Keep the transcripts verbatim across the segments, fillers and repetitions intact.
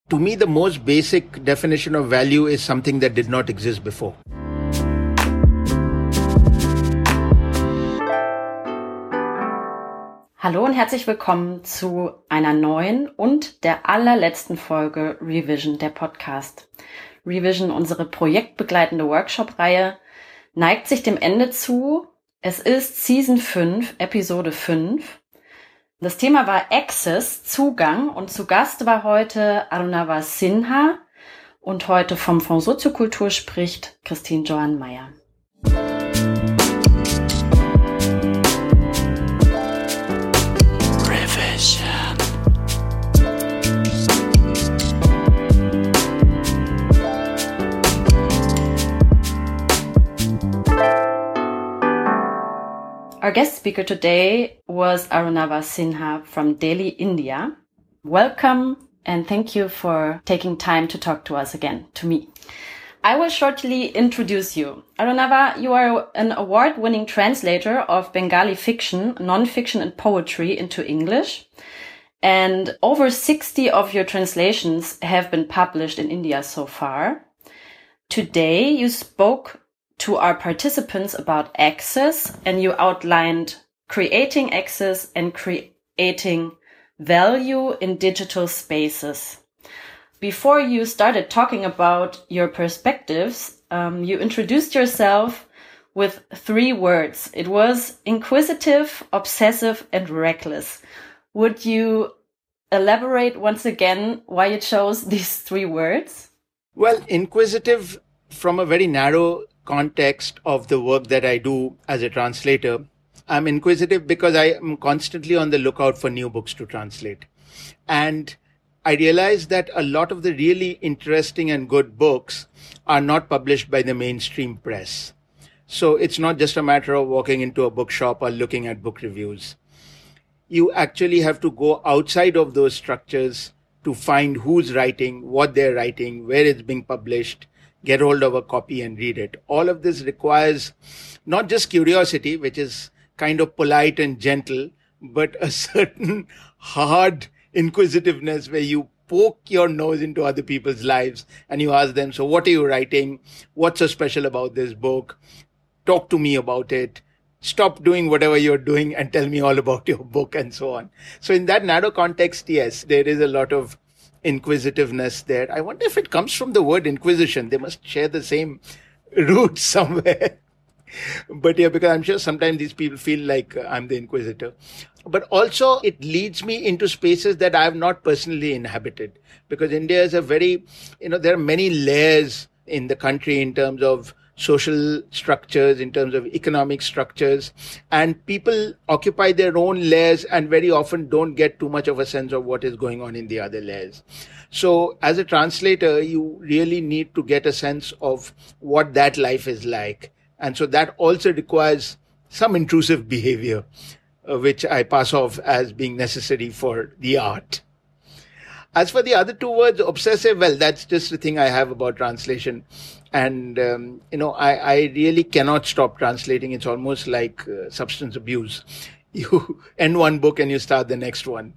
To me, the most basic definition of value is something that did not exist before. Hallo und herzlich willkommen zu einer neuen und der allerletzten Folge Revision, der Podcast. Revision, unsere projektbegleitende Workshop-Reihe, neigt sich dem Ende zu. Es ist Season fünf, Episode fünf. Das Thema war Access, Zugang, und zu Gast war heute Arunava Sinha und heute vom Fonds Soziokultur spricht Christine Johann Meyer. Our guest speaker today was Arunava Sinha from Delhi, India. Welcome and thank you for taking time to talk to us again, to me. I will shortly introduce you. Arunava, you are an award-winning translator of Bengali fiction, non-fiction and poetry into English. And over sixty of your translations have been published in India so far. Today you spoke to our participants about access, and you outlined creating access and creating value in digital spaces. Before you started talking about your perspectives, um, you introduced yourself with three words. It was inquisitive, obsessive, and reckless. Would you elaborate once again why you chose these three words? Well, inquisitive from a very narrow context of the work that I do as a translator. I'm inquisitive because I am constantly on the lookout for new books to translate. And I realize that a lot of the really interesting and good books are not published by the mainstream press. So it's not just a matter of walking into a bookshop or looking at book reviews. You actually have to go outside of those structures to find who's writing, what they're writing, where it's being published, get hold of a copy and read it. All of this requires not just curiosity, which is kind of polite and gentle, but a certain hard inquisitiveness where you poke your nose into other people's lives and you ask them, so what are you writing? What's so special about this book? Talk to me about it. Stop doing whatever you're doing and tell me all about your book and so on. So in that narrow context, yes, there is a lot of inquisitiveness there. I wonder if it comes from the word inquisition. They must share the same root somewhere. But yeah, because I'm sure sometimes these people feel like uh, I'm the inquisitor. But also it leads me into spaces that I have not personally inhabited. Because India is a very, you know, there are many layers in the country in terms of social structures, in terms of economic structures, and people occupy their own layers and very often don't get too much of a sense of what is going on in the other layers. So as a translator, you really need to get a sense of what that life is like. And so that also requires some intrusive behavior, uh, which I pass off as being necessary for the art. As for the other two words, obsessive, well, that's just the thing I have about translation. And, um, you know, I, I really cannot stop translating. It's almost like uh, substance abuse. You end one book and you start the next one.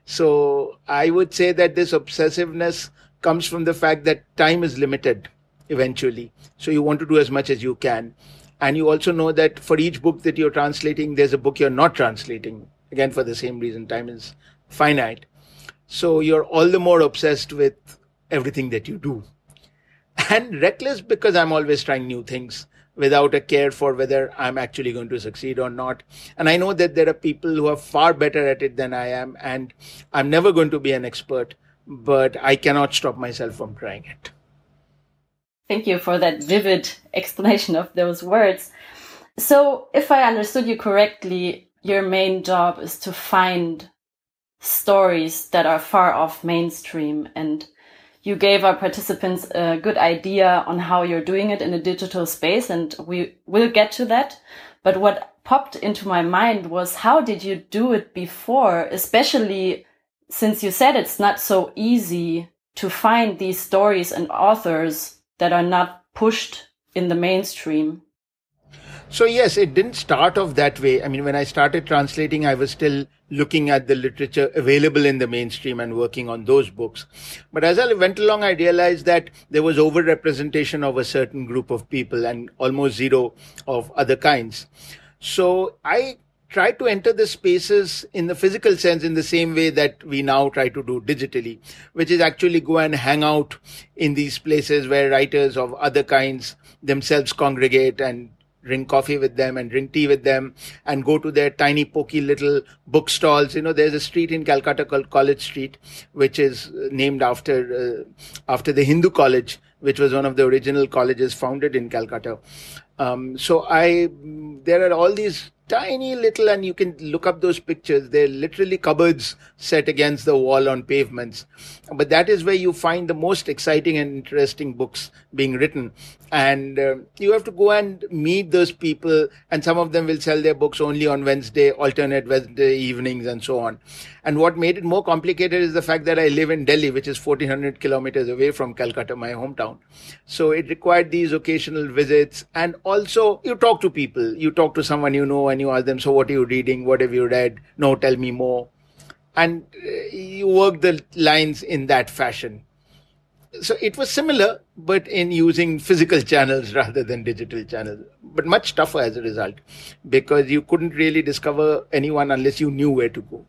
So I would say that this obsessiveness comes from the fact that time is limited eventually. So you want to do as much as you can. And you also know that for each book that you're translating, there's a book you're not translating. Again, for the same reason, time is finite. So you're all the more obsessed with everything that you do. And reckless because I'm always trying new things without a care for whether I'm actually going to succeed or not. And I know that there are people who are far better at it than I am, and I'm never going to be an expert, but I cannot stop myself from trying it. Thank you for that vivid explanation of those words. So if I understood you correctly, your main job is to find stories that are far off mainstream, and you gave our participants a good idea on how you're doing it in a digital space, and we will get to that. But what popped into my mind was, how did you do it before, especially since you said it's not so easy to find these stories and authors that are not pushed in the mainstream? So yes, it didn't start off that way. I mean, when I started translating, I was still looking at the literature available in the mainstream and working on those books. But as I went along, I realized that there was overrepresentation of a certain group of people and almost zero of other kinds. So I tried to enter the spaces in the physical sense in the same way that we now try to do digitally, which is actually go and hang out in these places where writers of other kinds themselves congregate and drink coffee with them and drink tea with them and go to their tiny pokey little bookstalls. You know, there's a street in Calcutta called College Street, which is named after uh, after the Hindu College, which was one of the original colleges founded in Calcutta. Um, so I, there are all these tiny little, and you can look up those pictures. They're literally cupboards set against the wall on pavements. But that is where you find the most exciting and interesting books being written. And uh, you have to go and meet those people. And some of them will sell their books only on Wednesday, alternate Wednesday evenings and so on. And what made it more complicated is the fact that I live in Delhi, which is fourteen hundred kilometers away from Calcutta, my hometown. So it required these occasional visits. And also you talk to people. You talk to someone you know and you ask them, so what are you reading? What have you read? No, tell me more. And you work the lines in that fashion. So it was similar, but in using physical channels rather than digital channels, but much tougher as a result, because you couldn't really discover anyone unless you knew where to go.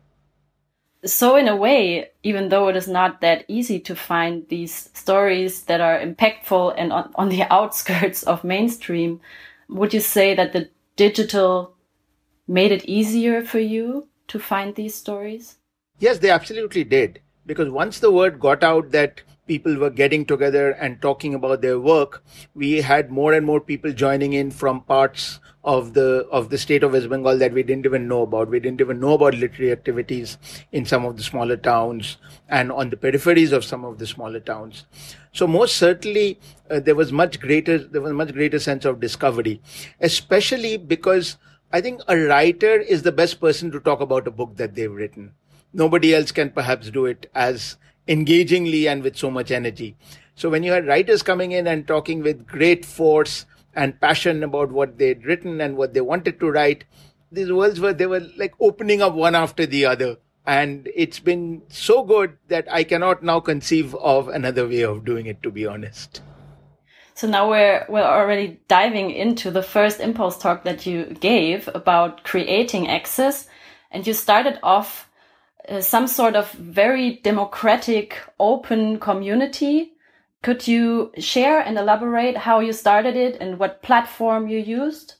So in a way, even though it is not that easy to find these stories that are impactful and on, on the outskirts of mainstream, would you say that the digital made it easier for you to find these stories? Yes, they absolutely did. Because once the word got out that people were getting together and talking about their work, we had more and more people joining in from parts of the of the state of West Bengal that we didn't even know about. We didn't even know about literary activities in some of the smaller towns and on the peripheries of some of the smaller towns. So most certainly uh, there was much greater there was a much greater sense of discovery, especially because I think a writer is the best person to talk about a book that they've written. Nobody else can perhaps do it as engagingly and with so much energy. So when you had writers coming in and talking with great force and passion about what they'd written and what they wanted to write, these worlds were, they were like opening up one after the other. And it's been so good that I cannot now conceive of another way of doing it, to be honest. So now we're, we're already diving into the first impulse talk that you gave about creating access. And you started off uh, some sort of very democratic, open community. Could you share and elaborate how you started it and what platform you used?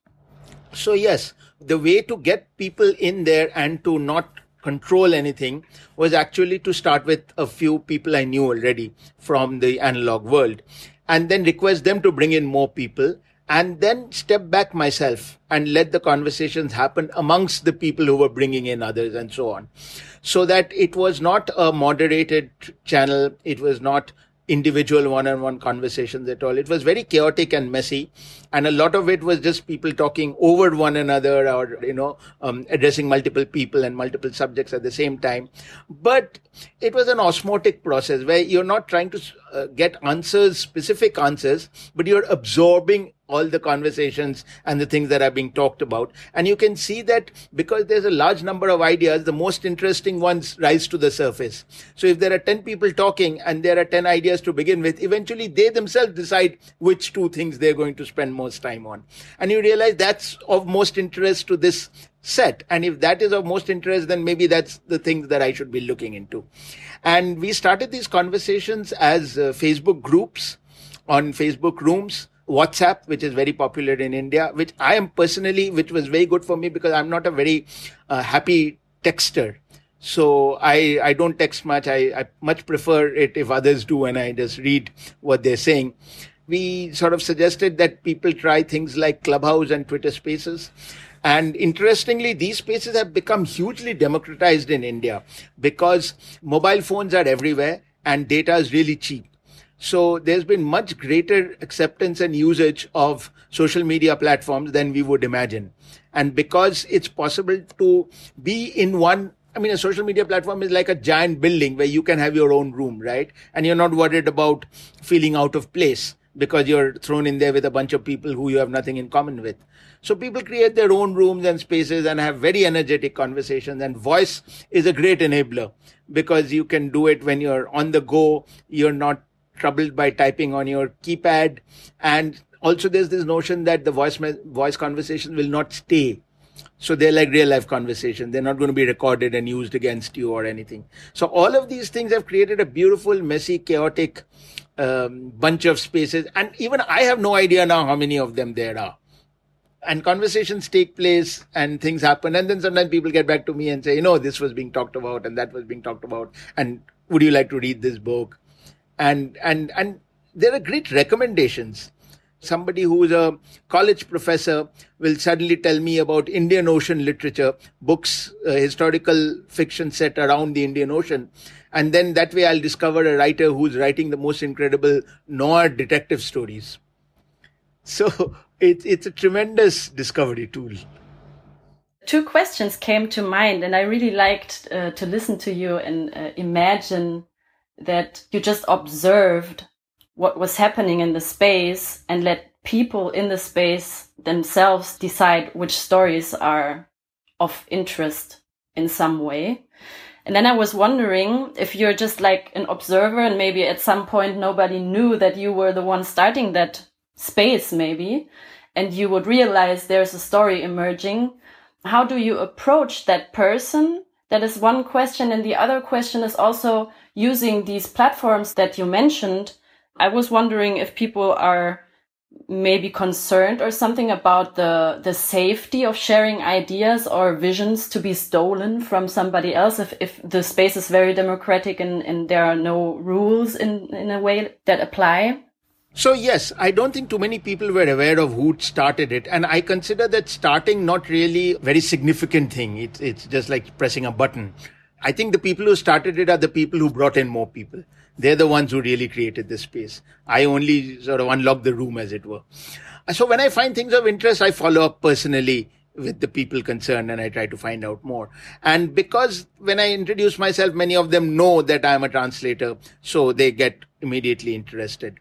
So yes, the way to get people in there and to not control anything was actually to start with a few people I knew already from the analog world, and then request them to bring in more people, and then step back myself and let the conversations happen amongst the people who were bringing in others and so on. So that it was not a moderated channel. It was not individual one-on-one conversations at all. It was very chaotic and messy. And a lot of it was just people talking over one another or, you know, um, addressing multiple people and multiple subjects at the same time. But it was an osmotic process where you're not trying to uh, get answers, specific answers, but you're absorbing all the conversations and the things that are being talked about. And you can see that because there's a large number of ideas, the most interesting ones rise to the surface. So if there are ten people talking and there are ten ideas to begin with, eventually they themselves decide which two things they're going to spend most time on. And you realize that's of most interest to this set. And if that is of most interest, then maybe that's the things that I should be looking into. And we started these conversations as uh, Facebook groups, on Facebook rooms, WhatsApp, which is very popular in India, which I am personally, which was very good for me because I'm not a very uh, happy texter. So I, I don't text much. I, I much prefer it if others do and I just read what they're saying. We sort of suggested that people try things like Clubhouse and Twitter Spaces. And interestingly, these spaces have become hugely democratized in India because mobile phones are everywhere and data is really cheap. So there's been much greater acceptance and usage of social media platforms than we would imagine. And because it's possible to be in one, I mean, a social media platform is like a giant building where you can have your own room, right? And you're not worried about feeling out of place. because you're thrown in there with a bunch of people who you have nothing in common with. So people create their own rooms and spaces and have very energetic conversations, and voice is a great enabler because you can do it when you're on the go. You're not troubled by typing on your keypad. And also there's this notion that the voice voice conversation will not stay. So they're like real life conversation. They're not going to be recorded and used against you or anything. So all of these things have created a beautiful, messy, chaotic um, bunch of spaces. And even I have no idea now how many of them there are. And conversations take place and things happen. And then sometimes people get back to me and say, you know, this was being talked about and that was being talked about. And would you like to read this book? And, and, and there are great recommendations. Somebody who is a college professor will suddenly tell me about Indian Ocean literature, books, uh, historical fiction set around the Indian Ocean. And then that way I'll discover a writer who's writing the most incredible noir detective stories. So it, it's a tremendous discovery tool. Two questions came to mind, and I really liked uh, to listen to you and uh, imagine that you just observed what was happening in the space and let people in the space themselves decide which stories are of interest in some way. And then I was wondering if you're just like an observer and maybe at some point nobody knew that you were the one starting that space maybe, and you would realize there's a story emerging. How do you approach that person? That is one question. And the other question is also using these platforms that you mentioned. I was wondering if people are maybe concerned or something about the the safety of sharing ideas or visions to be stolen from somebody else if, if the space is very democratic and, and there are no rules in, in a way that apply. So yes, I don't think too many people were aware of who started it. And I consider that starting not really a very significant thing. It's, it's just like pressing a button. I think the people who started it are the people who brought in more people. They're the ones who really created this space. I only sort of unlocked the room, as it were. So when I find things of interest, I follow up personally with the people concerned and I try to find out more. And because when I introduce myself, many of them know that I'm a translator, so they get immediately interested.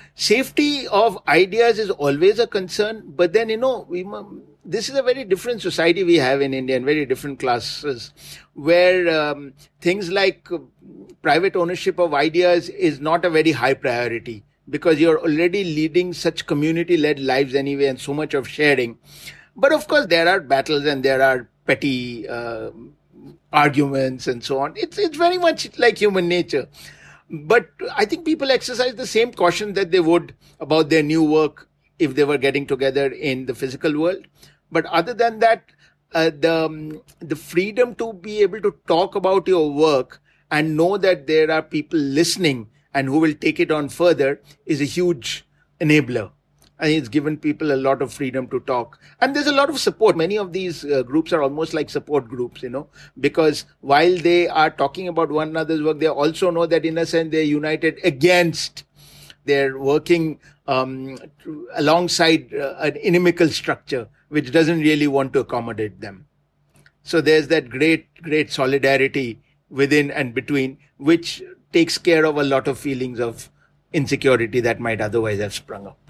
Safety of ideas is always a concern, but then, you know, we, this is a very different society we have in India and very different classes where um, things like private ownership of ideas is not a very high priority because you're already leading such community-led lives anyway and so much of sharing. But of course, there are battles and there are petty uh, arguments and so on. It's, it's very much like human nature. But I think people exercise the same caution that they would about their new work if they were getting together in the physical world. But other than that, uh, the, um, the freedom to be able to talk about your work and know that there are people listening and who will take it on further is a huge enabler. I think it's given people a lot of freedom to talk. And there's a lot of support. Many of these uh, groups are almost like support groups, you know, because while they are talking about one another's work, they also know that in a sense they're united against, they're working um, alongside uh, an inimical structure, which doesn't really want to accommodate them. So there's that great, great solidarity within and between, which takes care of a lot of feelings of insecurity that might otherwise have sprung up.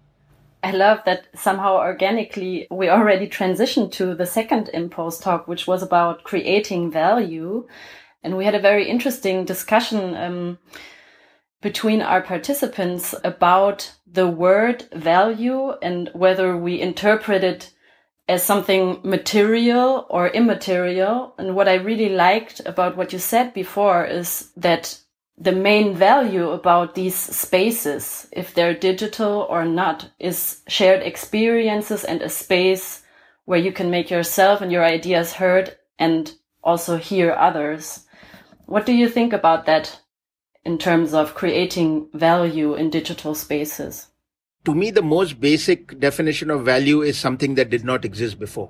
I love that somehow organically we already transitioned to the second Impulse talk, which was about creating value. And we had a very interesting discussion um, between our participants about the word value and whether we interpret it as something material or immaterial. And what I really liked about what you said before is that the main value about these spaces, if they're digital or not, is shared experiences and a space where you can make yourself and your ideas heard and also hear others. What do you think about that in terms of creating value in digital spaces? To me, the most basic definition of value is something that did not exist before.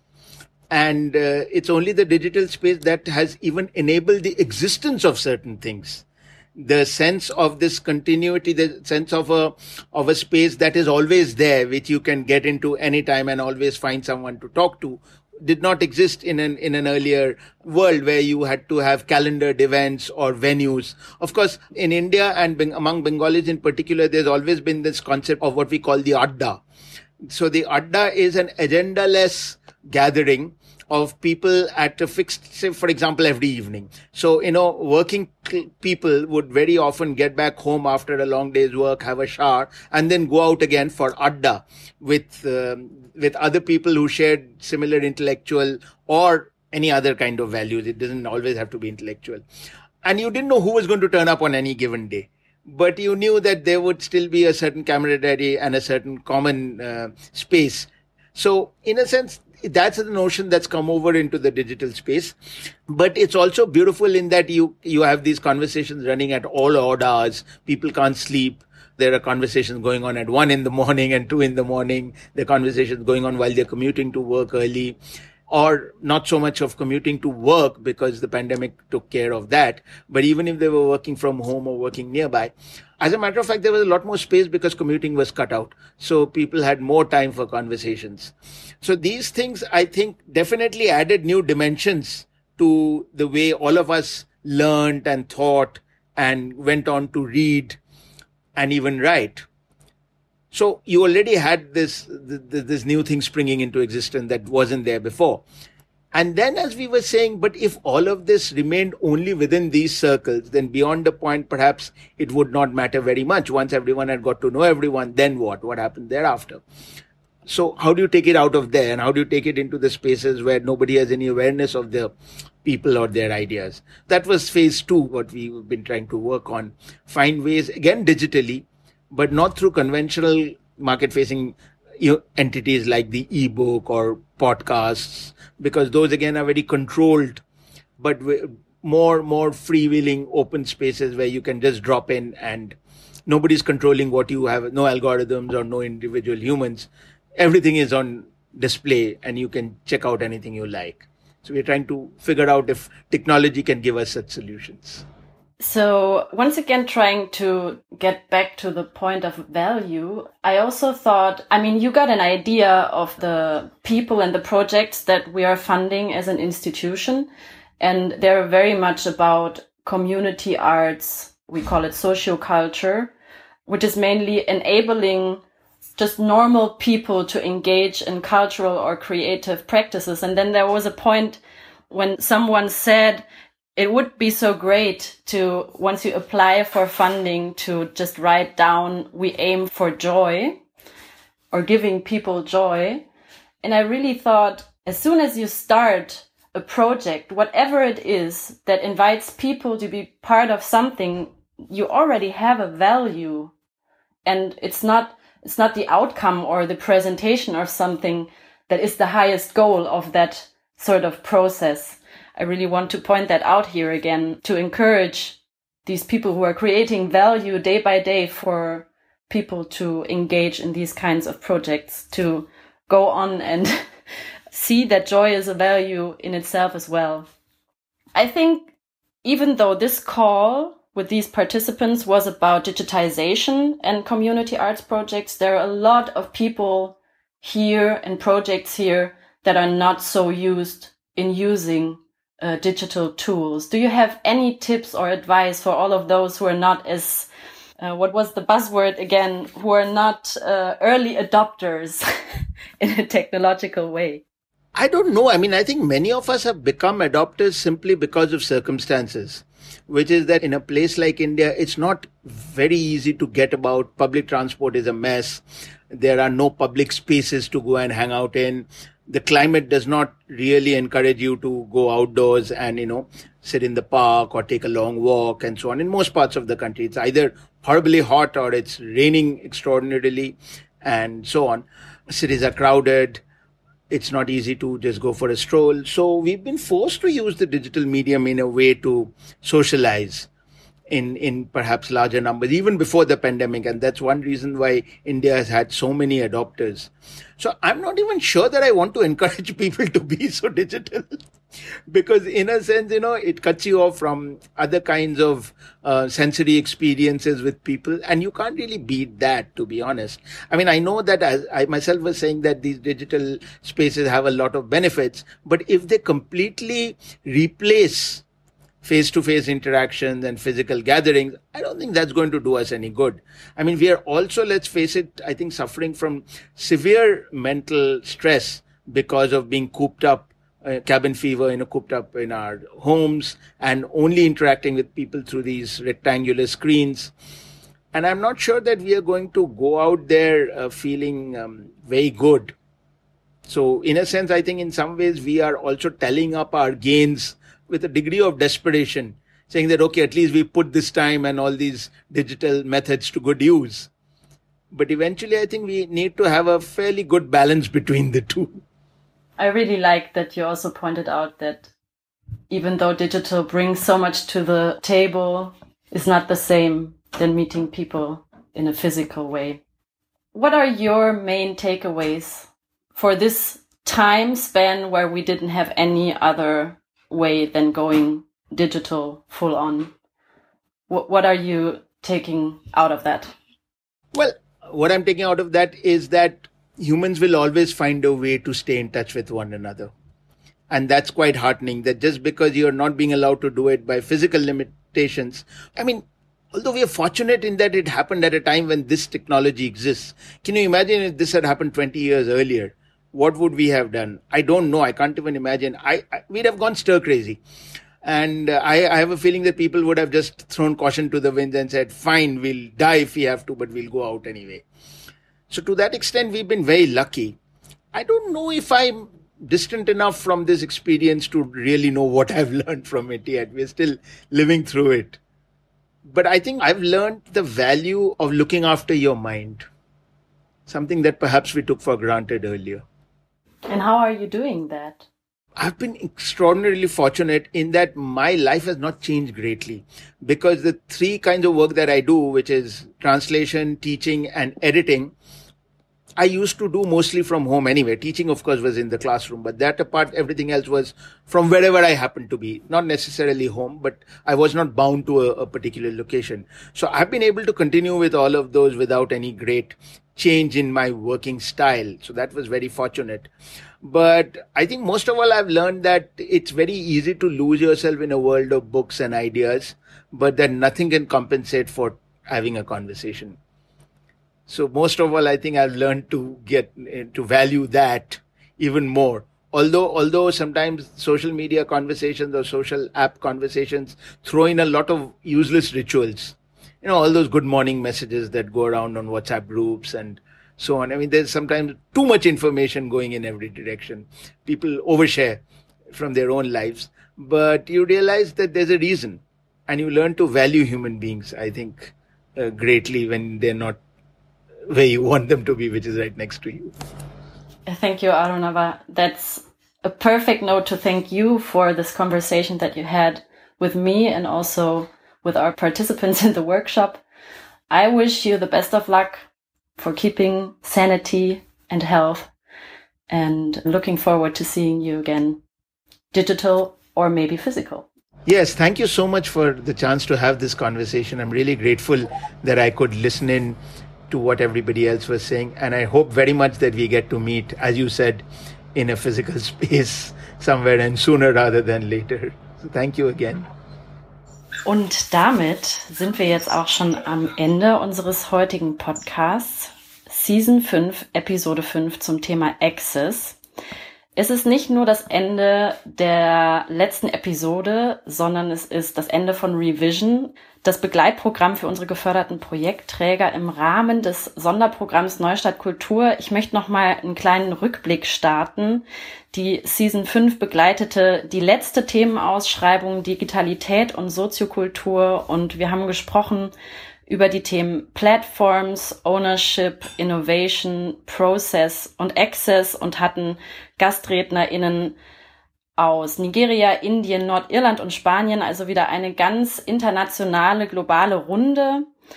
And uh, it's only the digital space that has even enabled the existence of certain things. The sense of this continuity, the sense of a of a space that is always there, which you can get into anytime and always find someone to talk to, did not exist in an in an earlier world where you had to have calendared events or venues. Of course, in India and Beng- among Bengalis in particular, there's always been this concept of what we call the Adda. So the Adda is an agenda-less gathering of people at a fixed, say, for example, every evening. So, you know, working people would very often get back home after a long day's work, have a shower, and then go out again for Adda with, um, with other people who shared similar intellectual or any other kind of values. It doesn't always have to be intellectual. And you didn't know who was going to turn up on any given day. But you knew that there would still be a certain camaraderie and a certain common uh, space. So, in a sense, that's the notion that's come over into the digital space. But it's also beautiful in that you, you have these conversations running at all odd hours. People can't sleep. There are conversations going on at one in the morning and two in the morning. There are conversations going on while they're commuting to work early. Or not so much of commuting to work because the pandemic took care of that. But even if they were working from home or working nearby, as a matter of fact, there was a lot more space because commuting was cut out. So people had more time for conversations. So these things, I think, definitely added new dimensions to the way all of us learned and thought and went on to read and even write. So you already had this, this new thing springing into existence that wasn't there before. And then, as we were saying, but if all of this remained only within these circles, then beyond the point, perhaps it would not matter very much. Once everyone had got to know everyone, then what? What happened thereafter? So how do you take it out of there? And how do you take it into the spaces where nobody has any awareness of the people or their ideas? That was phase two, what we've been trying to work on. Find ways, again, digitally, but not through conventional market-facing you know, entities like the ebook or podcasts, because those again are very controlled, but more more freewheeling open spaces where you can just drop in and nobody's controlling what you have, no algorithms or no individual humans. Everything is on display and you can check out anything you like. So we're trying to figure out if technology can give us such solutions. So once again, trying to get back to the point of value, I also thought, I mean, you got an idea of the people and the projects that we are funding as an institution, and they're very much about community arts. We call it socioculture, which is mainly enabling just normal people to engage in cultural or creative practices. And then there was a point when someone said, it would be so great to, once you apply for funding, to just write down, we aim for joy or giving people joy. And I really thought, as soon as you start a project, whatever it is that invites people to be part of something, you already have a value. And it's not, it's not the outcome or the presentation of something that is the highest goal of that sort of process. I really want to point that out here again, to encourage these people who are creating value day by day for people to engage in these kinds of projects, to go on and see that joy is a value in itself as well. I think even though this call with these participants was about digitization and community arts projects, there are a lot of people here and projects here that are not so used in using Uh, digital tools. Do you have any tips or advice for all of those who are not as, uh, what was the buzzword again, who are not uh, early adopters in a technological way? I don't know. I mean, I think many of us have become adopters simply because of circumstances, which is that in a place like India, it's not very easy to get about. Public transport is a mess. There are no public spaces to go and hang out in. The climate does not really encourage you to go outdoors and, you know, sit in the park or take a long walk and so on. In most parts of the country, it's either horribly hot or it's raining extraordinarily and so on. Cities are crowded. It's not easy to just go for a stroll. So we've been forced to use the digital medium in a way to socialize in, in perhaps larger numbers, even before the pandemic. And that's one reason why India has had so many adopters. So I'm not even sure that I want to encourage people to be so digital. Because in a sense, you know, it cuts you off from other kinds of uh, sensory experiences with people. And you can't really beat that, to be honest. I mean, I know that as I myself was saying that these digital spaces have a lot of benefits, but if they completely replace face-to-face interactions and physical gatherings, I don't think that's going to do us any good. I mean, we are also, let's face it, I think suffering from severe mental stress because of being cooped up, uh, cabin fever, you know, cooped up in our homes and only interacting with people through these rectangular screens. And I'm not sure that we are going to go out there uh, feeling um, very good. So in a sense, I think in some ways we are also telling up our gains with a degree of desperation, saying that, okay, at least we put this time and all these digital methods to good use. But eventually, I think we need to have a fairly good balance between the two. I really like that you also pointed out that even though digital brings so much to the table, it's not the same than meeting people in a physical way. What are your main takeaways for this time span where we didn't have any other way than going digital full on? What, what are you taking out of that? Well, what I'm taking out of that is that humans will always find a way to stay in touch with one another. And that's quite heartening, that just because you're not being allowed to do it by physical limitations. I mean, although we are fortunate in that it happened at a time when this technology exists. Can you imagine if this had happened twenty years earlier? What would we have done? I don't know. I can't even imagine. I, I we'd have gone stir crazy. And uh, I, I have a feeling that people would have just thrown caution to the winds and said, fine, we'll die if we have to, but we'll go out anyway. So to that extent, we've been very lucky. I don't know if I'm distant enough from this experience to really know what I've learned from it yet. We're still living through it. But I think I've learned the value of looking after your mind. Something that perhaps we took for granted earlier. And how are you doing that? I've been extraordinarily fortunate in that my life has not changed greatly, because the three kinds of work that I do, which is translation, teaching, and editing, I used to do mostly from home anyway. Teaching, of course, was in the classroom, but that apart, everything else was from wherever I happened to be. Not necessarily home, but I was not bound to a, a particular location. So I've been able to continue with all of those without any great change in my working style. So that was very fortunate. But I think most of all, I've learned that it's very easy to lose yourself in a world of books and ideas, but that nothing can compensate for having a conversation. So most of all, I think I've learned to get to value that even more. Although, although sometimes social media conversations or social app conversations throw in a lot of useless rituals. You know, all those good morning messages that go around on WhatsApp groups and so on. I mean, there's sometimes too much information going in every direction. People overshare from their own lives, but you realize that there's a reason, and you learn to value human beings, I think, uh, greatly when they're not where you want them to be, which is right next to you. Thank you, Arunava. That's a perfect note to thank you for this conversation that you had with me and also with our participants in the workshop. I wish you the best of luck for keeping sanity and health, and looking forward to seeing you again, digital or maybe physical. Yes, thank you so much for the chance to have this conversation. I'm really grateful that I could listen in to what everybody else was saying. And I hope very much that we get to meet, as you said, in a physical space somewhere, and sooner rather than later. So thank you again. Und damit sind wir jetzt auch schon am Ende unseres heutigen Podcasts, Season fünf, Episode fünf zum Thema Access. Es ist nicht nur das Ende der letzten Episode, sondern es ist das Ende von Revision, das Begleitprogramm für unsere geförderten Projektträger im Rahmen des Sonderprogramms Neustadt Kultur. Ich möchte noch mal einen kleinen Rückblick starten. Die Season fünf begleitete die letzte Themenausschreibung Digitalität und Soziokultur, und wir haben gesprochen über die Themen Platforms, Ownership, Innovation, Process und Access und hatten GastrednerInnen aus Nigeria, Indien, Nordirland und Spanien, also wieder eine ganz internationale, globale Runde.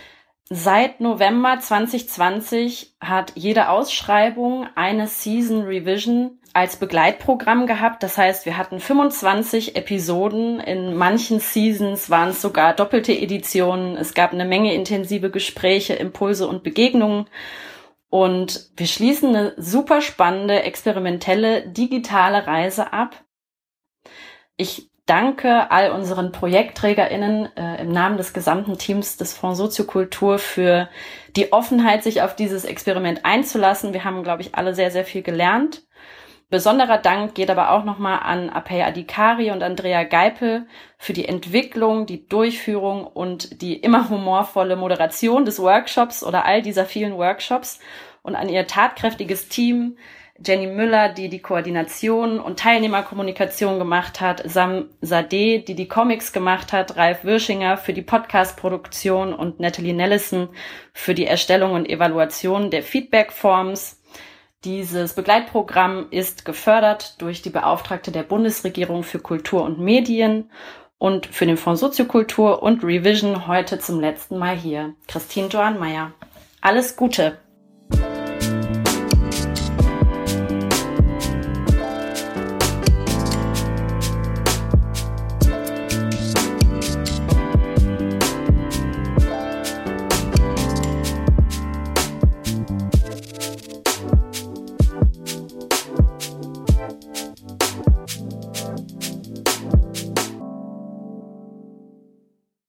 Seit November zwanzig zwanzig hat jede Ausschreibung eine Season Revision als Begleitprogramm gehabt. Das heißt, wir hatten fünfundzwanzig Episoden. In manchen Seasons waren es sogar doppelte Editionen. Es gab eine Menge intensive Gespräche, Impulse und Begegnungen. Und wir schließen eine super spannende, experimentelle, digitale Reise ab. Ich danke all unseren ProjektträgerInnen äh, im Namen des gesamten Teams des Fonds Soziokultur für die Offenheit, sich auf dieses Experiment einzulassen. Wir haben, glaube ich, alle sehr, sehr viel gelernt. Besonderer Dank geht aber auch nochmal an Apey Adhikari und Andrea Geipel für die Entwicklung, die Durchführung und die immer humorvolle Moderation des Workshops oder all dieser vielen Workshops und an ihr tatkräftiges Team, Jenny Müller, die die Koordination und Teilnehmerkommunikation gemacht hat, Sam Sadeh, die die Comics gemacht hat, Ralf Würschinger für die Podcast-Produktion und Natalie Nellison für die Erstellung und Evaluation der Feedback-Forms. Dieses Begleitprogramm ist gefördert durch die Beauftragte der Bundesregierung für Kultur und Medien und für den Fonds Soziokultur und Revision heute zum letzten Mal hier, Christine Johann-Meyer. Alles Gute!